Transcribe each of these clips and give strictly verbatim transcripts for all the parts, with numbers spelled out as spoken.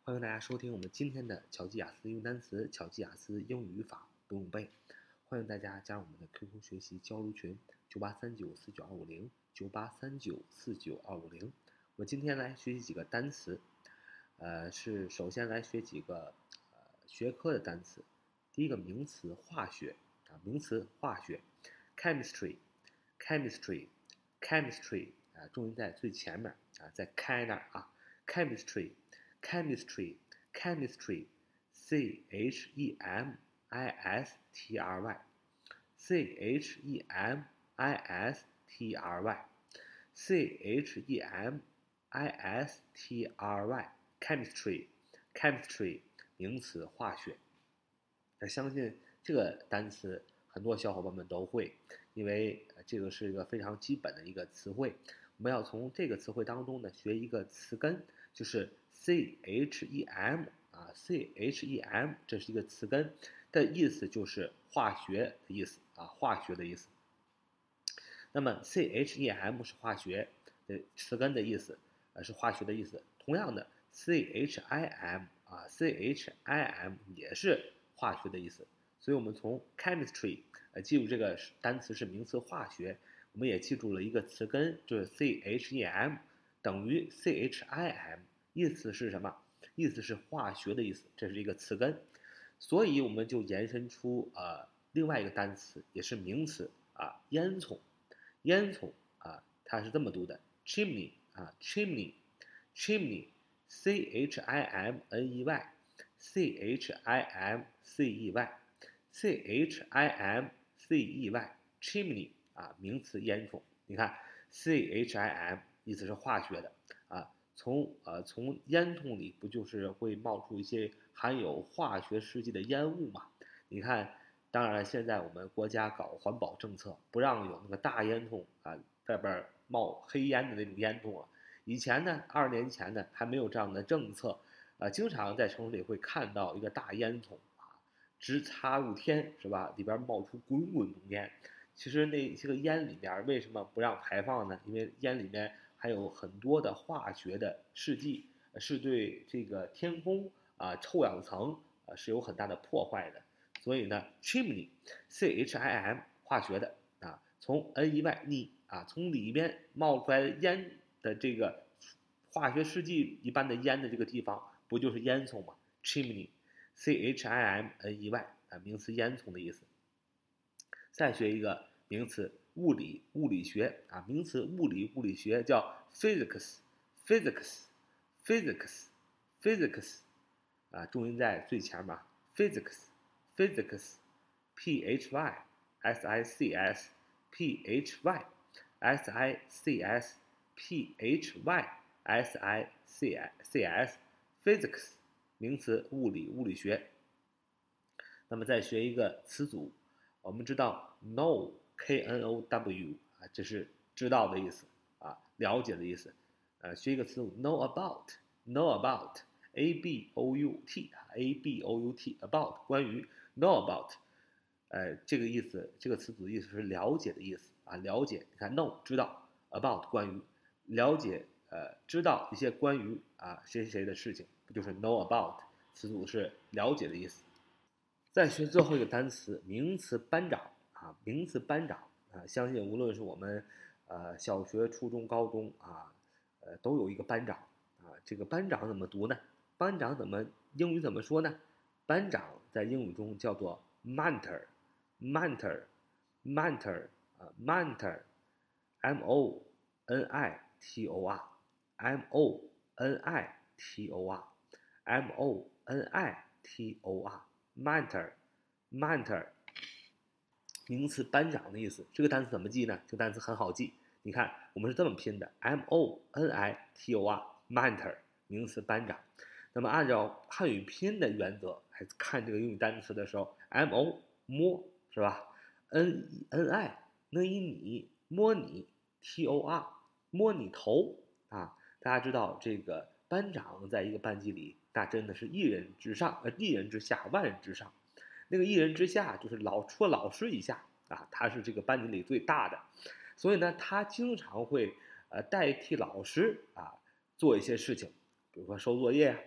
欢迎大家收听我们今天的巧记雅思英语单词、巧记雅思英语语法不用背。欢迎大家加入我们的 Q Q 学习交流群九八三九四九二五零九八三九四九二五零。我今天来学习几个单词，呃，是首先来学几个呃学科的单词。第一个名词化学啊，名词化学 ，chemistry，chemistry，chemistry 啊，重音在最前面啊，在开那儿啊 ，chemistry。Chemistry, chemistry, C H E M I S T R Y, C H E M I S T R Y, C H E M I S T R Y, chemistry, chemistry, 名词化学。那相信这个单词很多小伙伴们都会，因为这个是一个非常基本的一个词汇。我们要从这个词汇当中呢学一个词根，就是 C H E M 啊 ，C H E M 这是一个词根的意思，就是化学的意思啊，化学的意思。那么 C H E M 是化学的词根的意思，呃是化学的意思。同样的 C H I M 啊 ，C H I M 也是化学的意思。所以我们从 chemistry 呃记住这个单词是名词化学。我们也记住了一个词根，就是 C H E M 等于 C H I M， 意思是什么？意思是化学的意思，这是一个词根。所以我们就延伸出呃另外一个单词，也是名词啊，烟囱。烟囱啊，它是这么读的 ，chimney 啊 ，chimney，chimney，C H I M N E Y，C H I M C E Y，C H I M C E Y，chimney。啊，名词烟囱，你看 C H I M 意思是化学的啊，从呃从烟囱里不就是会冒出一些含有化学试剂的烟雾嘛？你看，当然现在我们国家搞环保政策，不让有那个大烟囱啊，外边冒黑烟的那种烟囱啊。以前呢，二十年前呢还没有这样的政策，啊，经常在城市里会看到一个大烟囱啊，直插入天是吧？里边冒出滚滚浓烟。其实那这个烟里面为什么不让排放呢？因为烟里面还有很多的化学的试剂，是对这个天空啊臭氧层啊是有很大的破坏的。所以呢 ，chimney C H I M 化学的啊，从 N E Y 逆啊，从里边冒出来的烟的这个化学试剂一般的烟的这个地方，不就是烟囱吗 ？chimney C H I M N E Y 啊，名词烟囱的意思。再学一个名词物理物理学啊，名词物理物理学叫 physics，physics，physics，physics 啊，重音在最前面 ，physics，physics，p h y s i c s，p h y s i c s，p h y s i c s，physics 名词物理物理学。那么再学一个词组。我们知道 know K N O W 啊，这是知道的意思啊，了解的意思。呃，学一个词组 know about know about A B O U T A B O U T about 关于 know about， 呃，这个意思，这个词组的意思是了解的意思啊，了解。你看 know 知道 about 关于了解，呃，知道一些关于啊谁谁谁的事情，不就是 know about 词组是了解的意思。再学最后一个单词，名词班长啊，名词班长啊，相信无论是我们呃小学、初中、高中啊，呃都有一个班长啊。这个班长怎么读呢？班长怎么英语怎么说呢？班长在英语中叫做 mentor，mentor，mentor 啊 mentor，M O N I T O R，M O N I T O R，M O N I T O R。mentor mentor 名词班长的意思。这个单词怎么记呢？这个单词很好记，你看我们是这么拼的 M O N I T O R mentor 名词班长。那么按照汉语拼音的原则来看这个英语单词的时候， M O 摸是吧， N N I 那一你摸你， T O R 摸你头啊。大家知道这个班长在一个班级里，那真的是一人之上，呃，一人之下，万人之上。那个一人之下就是老除了老师以下啊，他是这个班级里最大的，所以呢，他经常会呃代替老师啊做一些事情，比如说收作业，比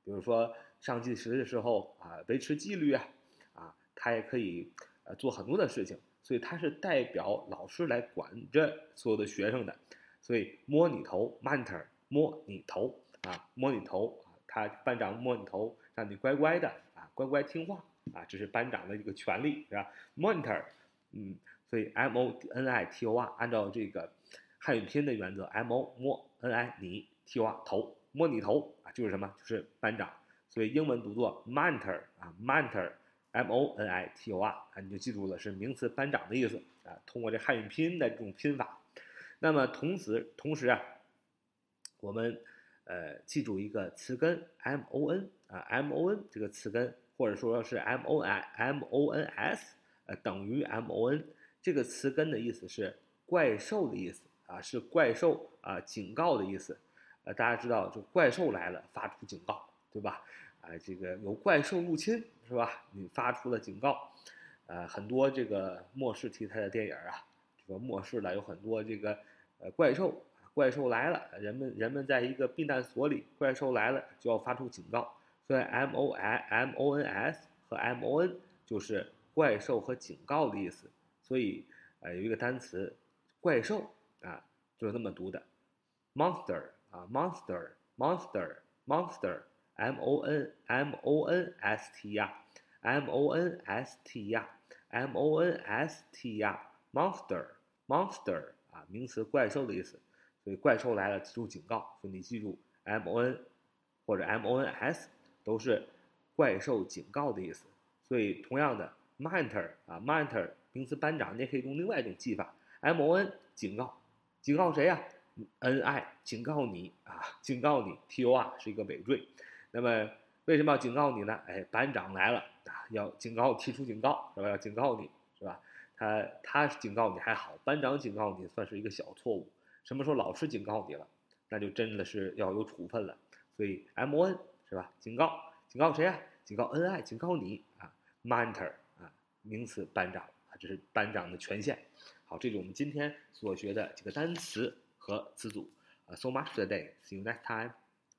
比如说上计时的时候啊，维持纪律啊，啊，他也可以呃做很多的事情，所以他是代表老师来管着所有的学生的，所以摸你头 monitor 摸你头啊，摸你头啊，他班长摸你头，让你乖乖的啊，乖乖听话啊，这是班长的一个权利，是吧 ？monitor，嗯，所以 M O N I T O R 按照这个汉语拼音的原则 ，M O 摸 N I 你 T O R 头摸你头啊，就是什么？就是班长。所以英文读作 monitor 啊 ，monitor，M O N I T O R 啊，你就记住了，是名词班长的意思啊。通过这汉语拼音的这种拼法，那么同时同时啊，我们呃记住一个词根 M O N 啊 ，M O N 这个词根，或者说是 M O N M O N S 呃等于 M O N 这个词根的意思是怪兽的意思啊，是怪兽啊警告的意思。呃，大家知道，就怪兽来了，发出警告，对吧？啊、呃，这个有怪兽入侵，是吧？你发出了警告，呃，很多这个末世题材的电影啊，这个末世了有很多这个呃怪兽，怪兽来了，人们人们在一个避难所里，怪兽来了就要发出警告，所以 M O N M O N S 和 M O N 就是怪兽和警告的意思，所以呃有一个单词怪兽啊，就是这么读的 ，monster。啊 ，monster monster monster，M O N M O N S T 呀 ，M O N S T 呀 ，M O N S T 呀 ，monster monster 啊，名词怪兽的意思，所以怪兽来了提出警告，所以你记住 M O N 或者 M O N S 都是怪兽警告的意思，所以同样的 monitor 啊 monitor 名词班长，你也可以用另外一种记法 ，M O N 警告，警告谁呀、啊？N I 警告你啊，警告你 T O R 是一个累赘，那么为什么要警告你呢？哎，班长来了啊，要警告，提出警告是吧？要警告你是吧？他他警告你还好，班长警告你算是一个小错误。什么时候老师警告你了，那就真的是要有处分了。所以 M O N 是吧？警告，警告谁啊？警告 N I 警告你啊 ，monitor 啊，名词班长啊，这是班长的权限。好，这是我们今天所学的几个单词和词组。Uh, so much for today. See you next time.